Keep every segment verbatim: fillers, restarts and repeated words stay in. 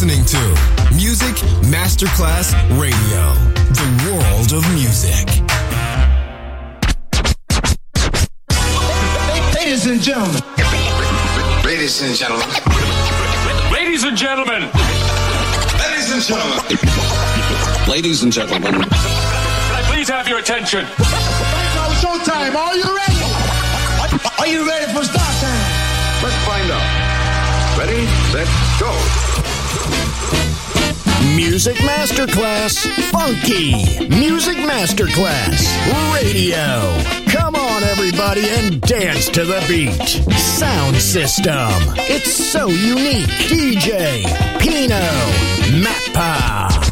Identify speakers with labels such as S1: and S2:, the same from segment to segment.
S1: listening to Music Masterclass Radio, the world of music.
S2: Ladies and gentlemen.
S3: Ladies and gentlemen.
S4: Ladies and gentlemen.
S3: Ladies and gentlemen.
S5: Ladies and gentlemen.
S4: Can I please have your attention?
S2: Now showtime. Are you ready? Are you ready for start time?
S3: Let's find out. Ready, set, go.
S6: Music Masterclass Funky. Music Masterclass Radio. Come on, everybody, and dance to the beat. Sound system. It's so unique. D J Pino Mappa.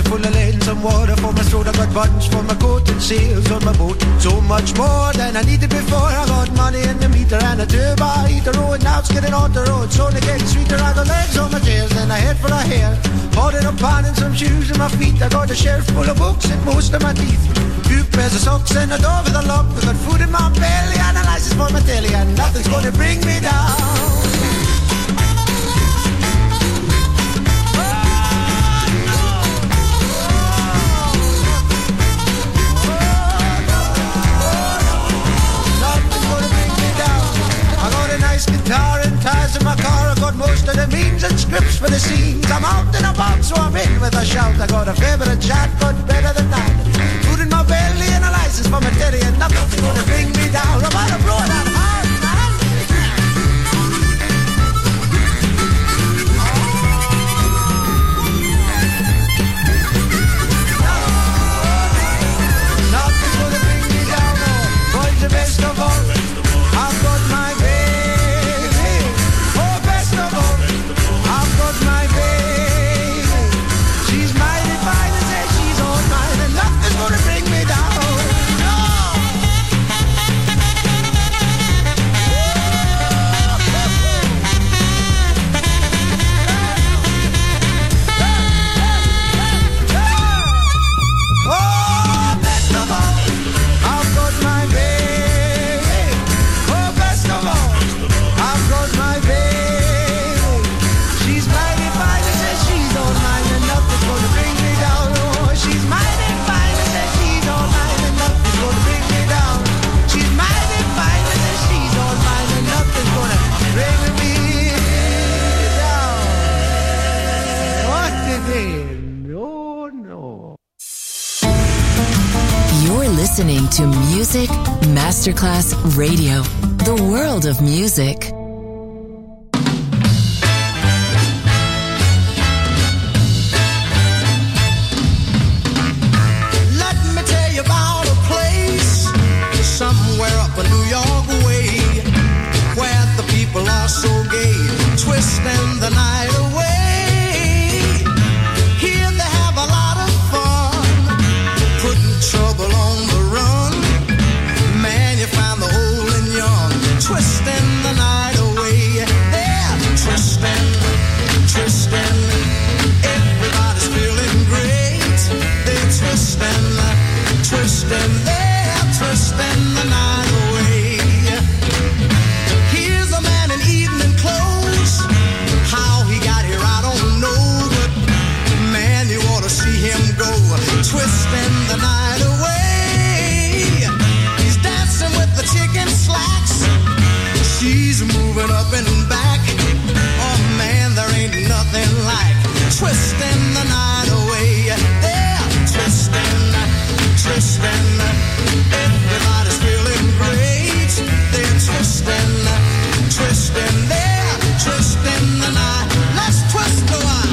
S7: full of lead, some water for my throat. I got buttons for my coat and sails on my boat. So much more than I needed before. I got money in the meter and a turbo heater. Oh, and now it's getting on the road, so only getting sweeter. I got legs on my tails and a head full of hair. Holding a pan and some shoes in my feet. I got a shelf full of books and most of my teeth. Few pairs of socks and a door with a lock. I got food in my belly and a license for my telly, and nothing's gonna bring me down. Guitar and ties in my car. I got most of the means and scripts for the scenes. I'm out in a box, so I'm in with a shout. I got a favourite chat, but better than that. Food in my belly and a license for my teddy, and nothing's gonna bring me down. I'm out of blow that hard, man. Nothing's gonna bring me down. Oh, boys, the best of all. I've got my
S8: Listening to Music Masterclass Radio, the world of music.
S7: Let me tell you about a place somewhere up a New York way, where the people are so gay, twisting the night away. Here they have a lot of fun, putting trouble on the run. Man, you find the old and young, twisting the night away. They're twisting, twisting. Everybody's feeling great. They're twisting, twisting. They're twisting the night away. Here's a man in evening clothes. How he got here, I don't know. But man, you ought to see him go, twisting the night away. He's dancing with the chicken slacks. She's moving up and back. Oh man, there ain't nothing like twisting the night away. They're twisting, twisting. Everybody's feeling great. They're twisting, twisting. They're twisting the night. Let's twist a while.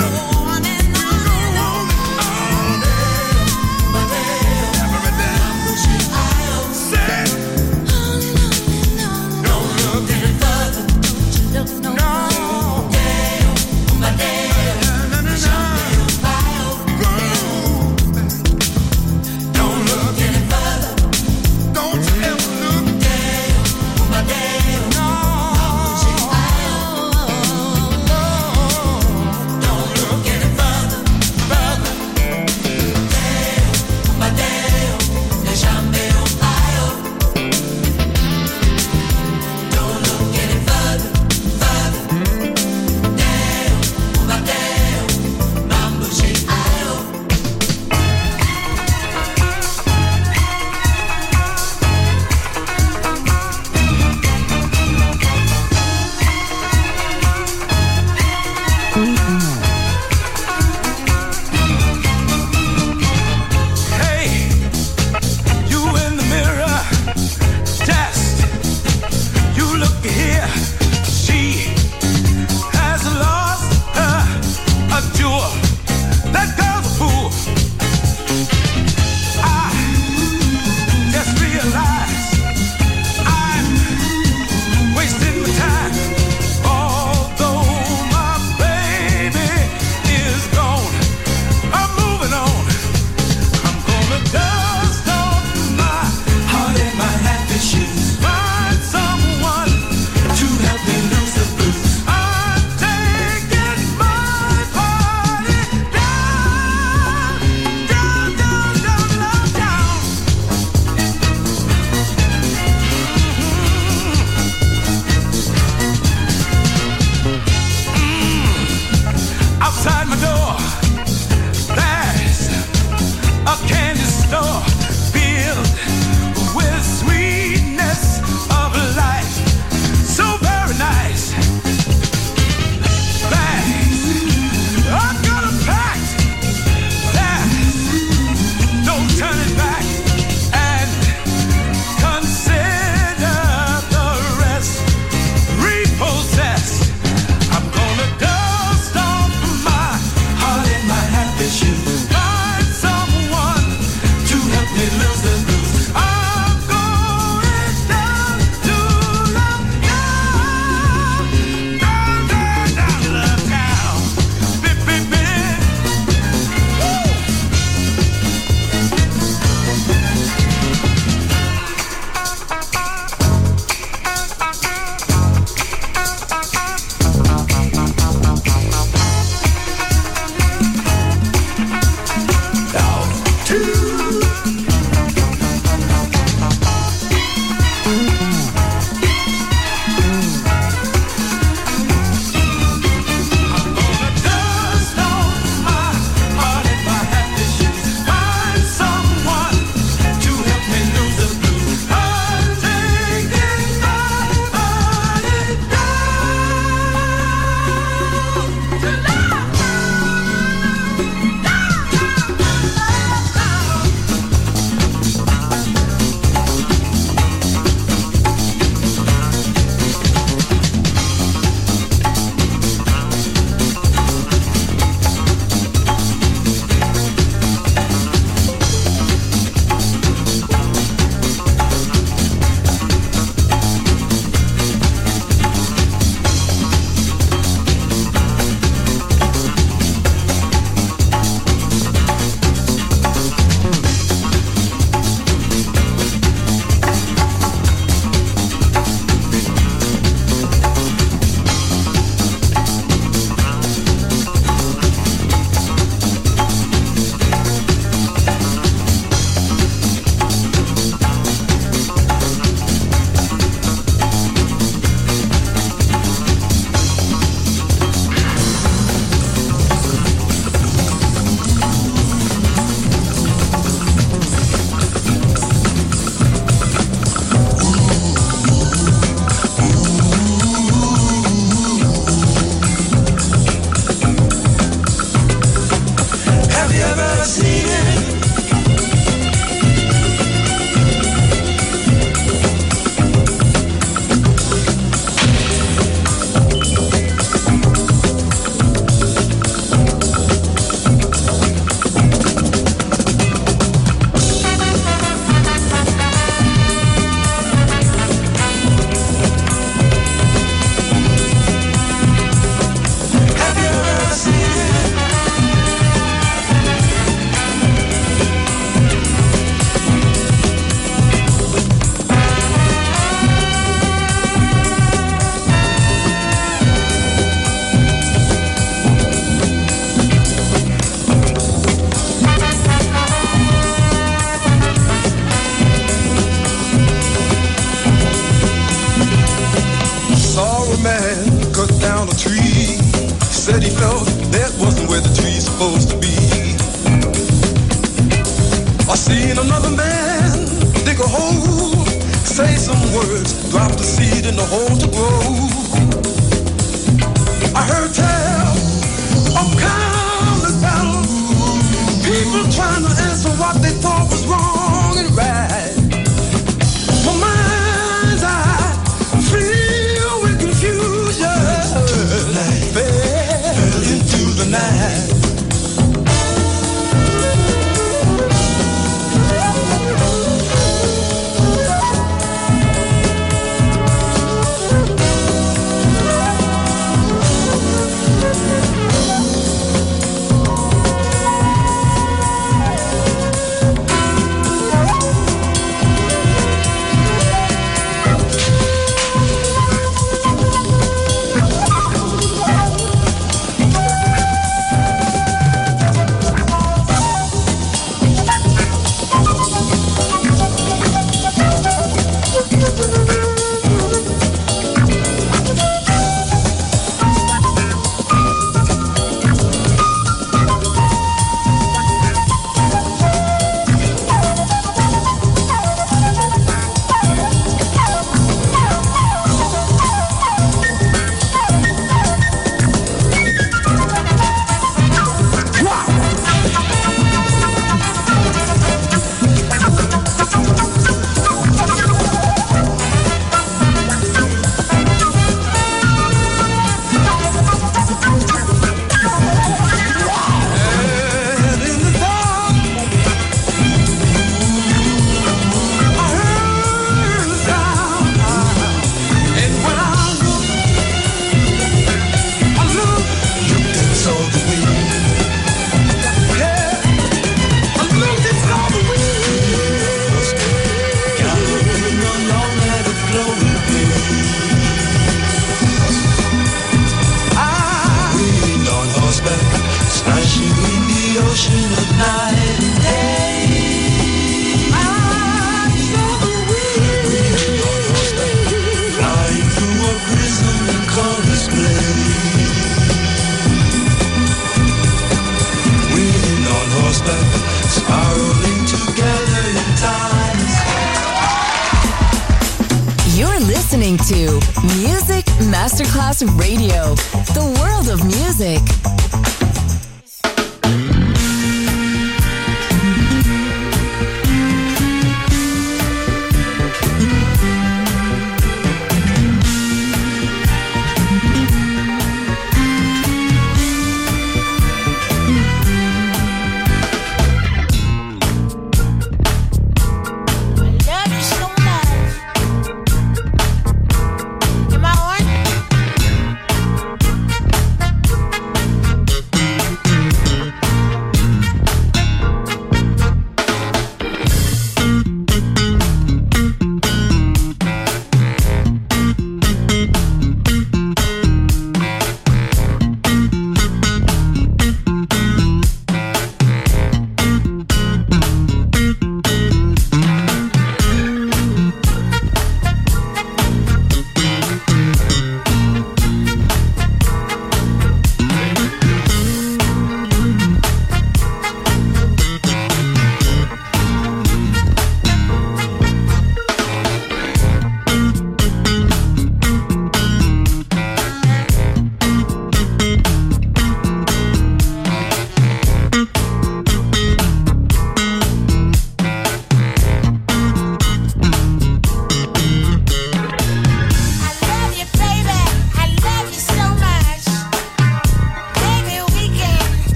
S7: Don't look hold to grow. I heard tell of countless battles, people trying to answer what they thought was wrong and right. My mind's eye filled with confusion, fell into the night.
S8: To Music Masterclass Radio, the world of music.
S9: Am I on?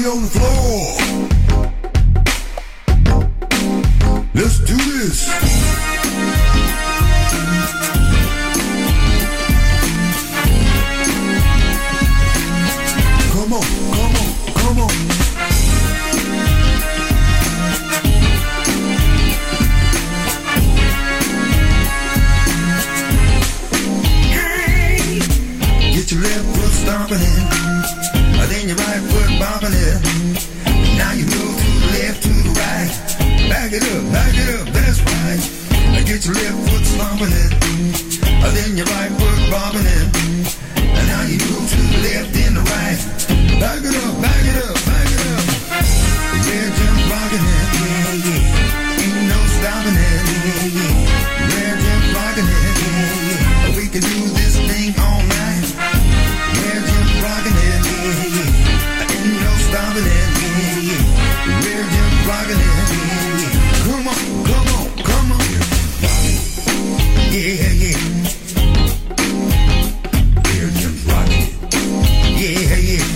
S2: Everybody on the floor. Let's do this. Come on, come on, come on. Hey, get your left foot stomping in, then your right foot bopping it. Now you move to the left, to the right. Back it up, back it up, that's right. Get your left foot stomping it, then your right foot bobbing it. And now you move to the left and the right. Back it up, back it up, back it up. Red jump rocking it, yeah, yeah. Ain't no stopping it, yeah, yeah. Red jump rocking it, yeah, yeah. We can do this thing all night. Red jump rocking it, yeah, yeah. Ain't no stopping it, yeah, yeah. Red jump rocking it, yeah, yeah. Come on, come on, come on. Yeah, yeah. Yeah, yeah.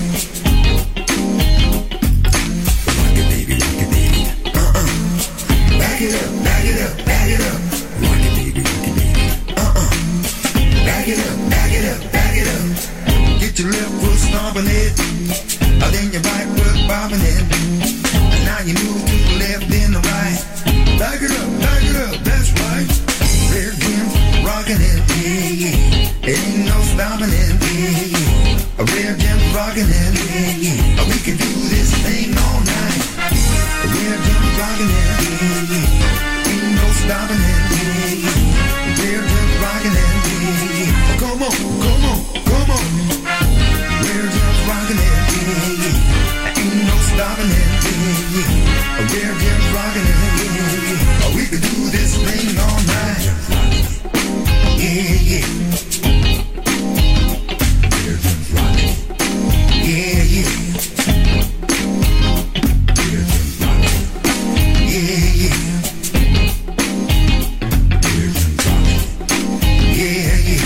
S2: Rock it, baby, rock it, baby. Uh-uh. Back it up, back it up, back it up. Rock it, baby, rock it, baby. Uh-uh. Back it up, back it up, back it up. Get your left foot stomping it, then your right foot bobbing it. And now you move to the left, then the right. Back it up, back it up, that's right. Rear Jim, rocking it, yeah, yeah. Ain't no stopping it, yeah, yeah. A rear Jim rocking it, yeah, yeah. We can do this thing all night. A rear Jim rocking it, yeah, yeah. Ain't no stopping it, yeah, yeah. A rear Jim rocking it, yeah, yeah. Come on, come on, come on. Rear Jim rocking it, yeah, yeah. Ain't no stopping it, yeah, yeah. A rear Jim rocking it, yeah, yeah. We can do this thing all night. Yeah, yeah. Yeah, yeah. Yeah, yeah. Yeah, yeah.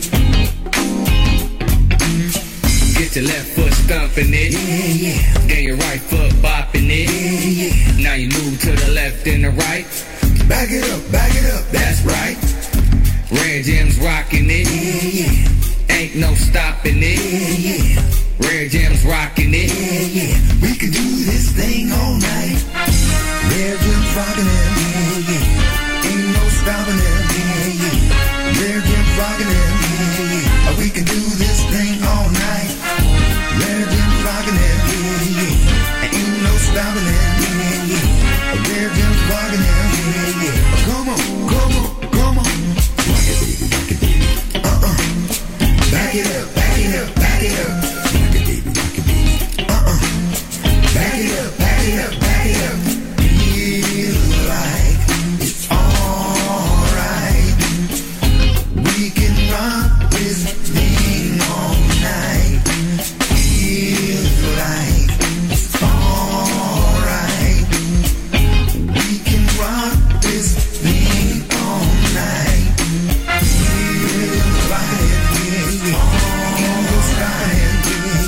S9: Get your left foot stomping it.
S2: Yeah, yeah.
S9: Then your right foot bopping it.
S2: Yeah, yeah.
S9: Now you move to the left and the right.
S2: Back it up, back it up, that's right.
S9: Red Jim's rocking it.
S2: Yeah, yeah.
S9: Ain't no stopping it.
S2: Yeah, yeah.
S9: Red Jim's rocking it.
S2: Yeah, yeah. We can do this thing all night. Red Jim's rocking it. Yeah, yeah. Ain't no stopping it. Yeah, yeah. Red Jim's rocking it. Yeah, yeah. We can do this thing all night. Red Jim's rocking it. Yeah, yeah. Ain't no stopping it. Yeah, yeah. Red Jim's rocking it. Yeah, yeah. Come on, come on, come on. Rock it, baby, rock it, baby. Uh-uh. Back it up, back it up, back it up. Rock it, baby, rock it, baby. Uh-uh. Back it up, back it up, back it up. Feel like it's alright. We can rock this thing all night. Feel like it's alright. We can rock this thing all night. Feel like it's alright.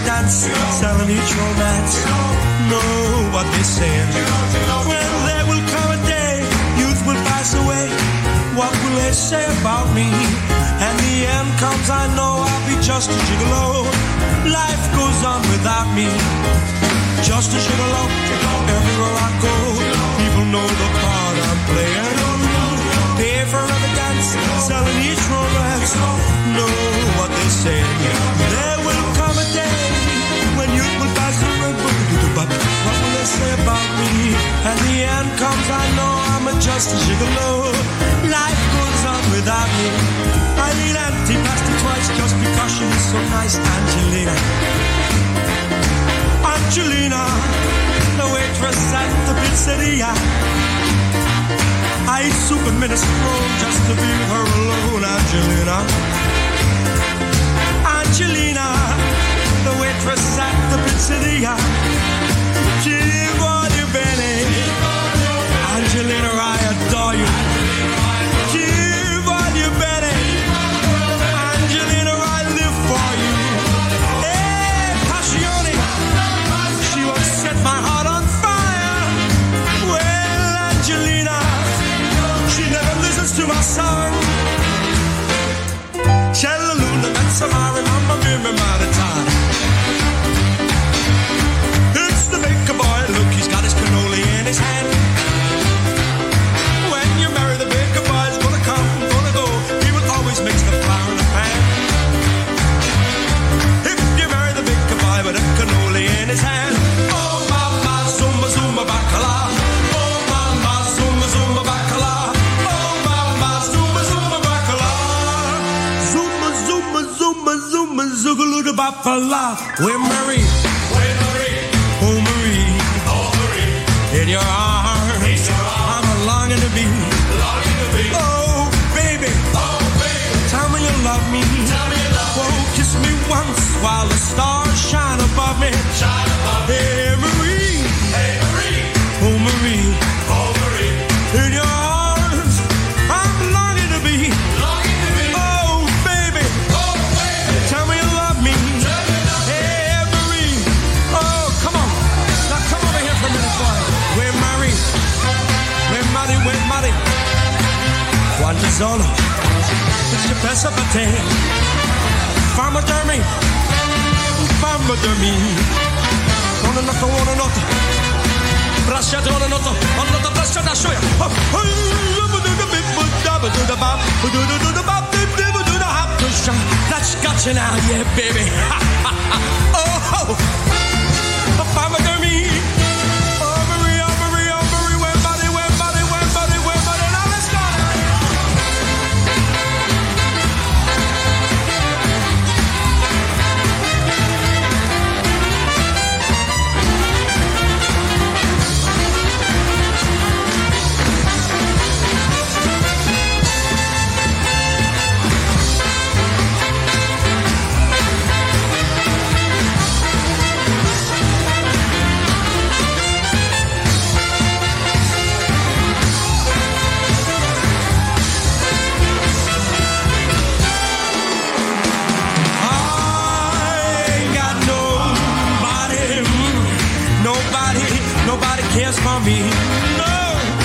S7: dance, selling each romance. Know what they say. When there will come a day, youth will pass away. What will they say about me? And the end comes, I know I'll be just a gigolo. Life goes on without me. Just a gigolo, everywhere I go. People know the part I'm playing. Pay for every dance, selling each romance. Know what they say. There will come a day when youth will pass away. What will they say about me? And the end comes, I know I'm a just a gigolo. Life goes on without me. I need empty plastic twice just because she's so nice, Angelina. Angelina, the waitress at the pizzeria. I eat soup and minestrone just to be with her alone, Angelina. Angelina, the waitress at the pizzeria. Ci voglio bene, Angelina, I adore you. Ci voglio bene, Angelina, I live for you. Hey, passione, she will set my heart on fire. Well, Angelina, she never listens to my song. C'è la luna, that's a mare, mamma mia, mi maritata. It's the baker boy, look, he's got his cannoli in his hand. When you marry the baker boy, he's gonna come, gonna go. He will always mix the flour in the pan. If you marry the baker boy with a cannoli in his hand. Oh mama, zumba zumba bacala. Oh mama, zumba zumba bacala. Oh mama, zumba zumba bacala. Zumba zumba zumba zumba zugaloo da bacala. We're married. Oh Marie, oh Marie, in your arms, in your arms. I'm longing to be, longing to be. Oh baby, oh baby, tell me you love me, tell me you love oh, me. Kiss me once while the stars shine above me, shine above me. Hey Marie, hey Marie, oh Marie, oh Marie, in your arms, I'm longing to be, longing to be. Oh baby, oh baby, tell me you love me, tell me you love me. Hey Marie, oh come on. Come over here for a minute, boy. We're married. We're married, we're married. Quanto solo ci pensa per te. Fammi dormire, fammi dormire. Una notte, una notte. Bracciate una notte, una notte bracciata a sciogliere. That's got you now, yeah, baby. Oh, fammi dormire. Oh, Marie, oh, Marie, oh, Marie, we're body, we're body, we're body, we're body. Now let's go. Cares for me. No,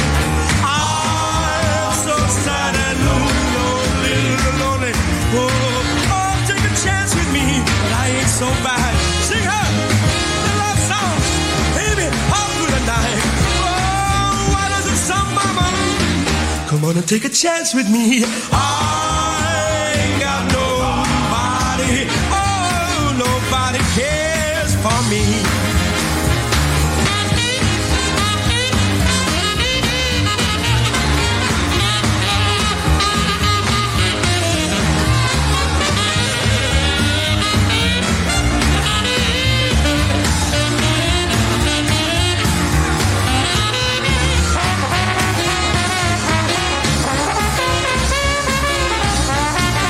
S7: I'm so sad and lonely, lonely. Oh, oh, take a chance with me, but I ain't so bad. Sing her the love song, baby, how good a night. Oh, why does it sound, mama? Come on and take a chance with me. I ain't got nobody. Oh, nobody cares for me.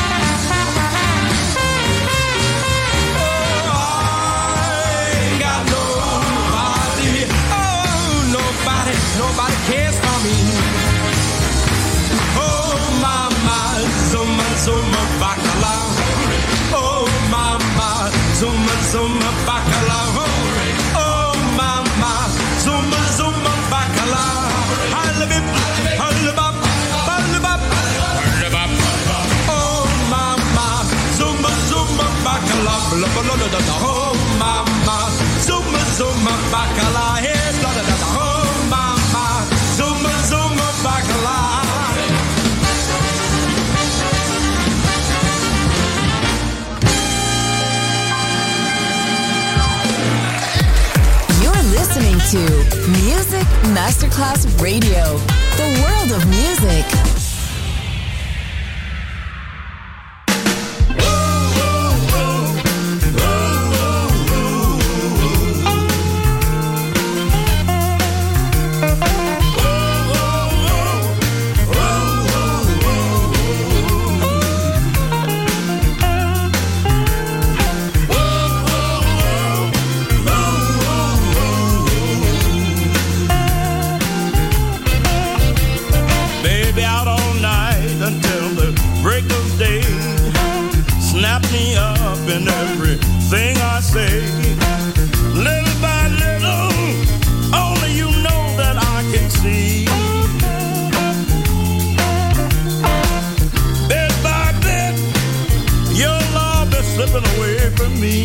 S7: Got
S8: Masterclass Radio, the world of music.
S10: in everything I say. Little by little, only you know that I can see. Bit by bit, your love is slipping away from me.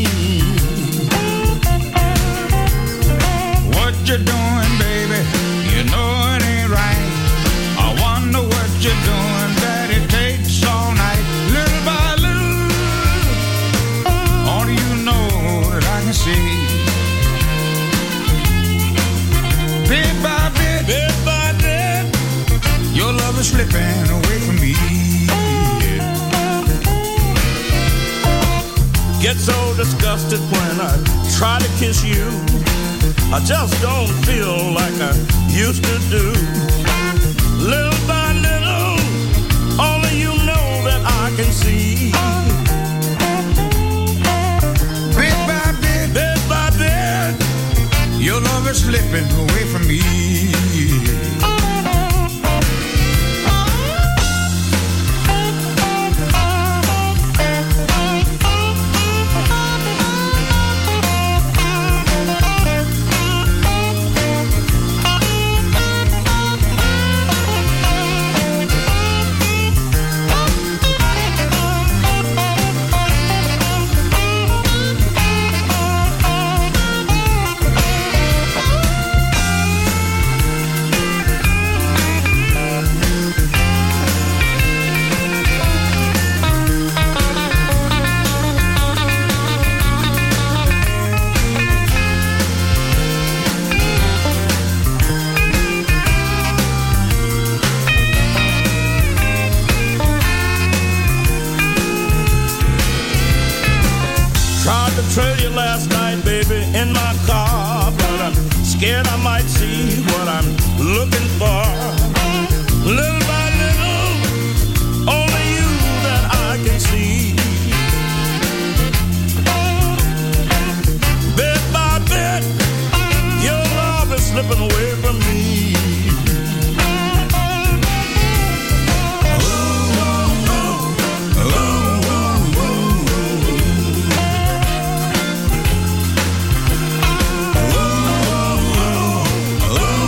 S11: What you doing, baby? You know it ain't right. I wonder what you're doing, that it takes all night. Little by little, only you know that I can see. Bit by bit,
S10: bit by bit,
S11: your love is slipping away from me.
S10: Get so disgusted when I try to kiss you. I just don't feel like I used to do. Little by little, only you know that I can see.
S11: Bit by bit,
S10: bit by bit,
S11: your love is slipping away from me.
S10: Trail you last night, baby, in my car, but I'm scared I might see what I'm looking for. Little by little, only you that I can see. Bit by bit, your love is slipping away from me.
S11: Oh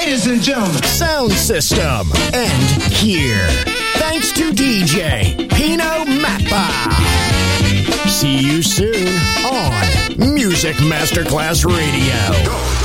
S7: Ladies and gentlemen,
S6: sound system, and here. Thanks to D J Pino Mappa. See you soon on Music Masterclass Radio.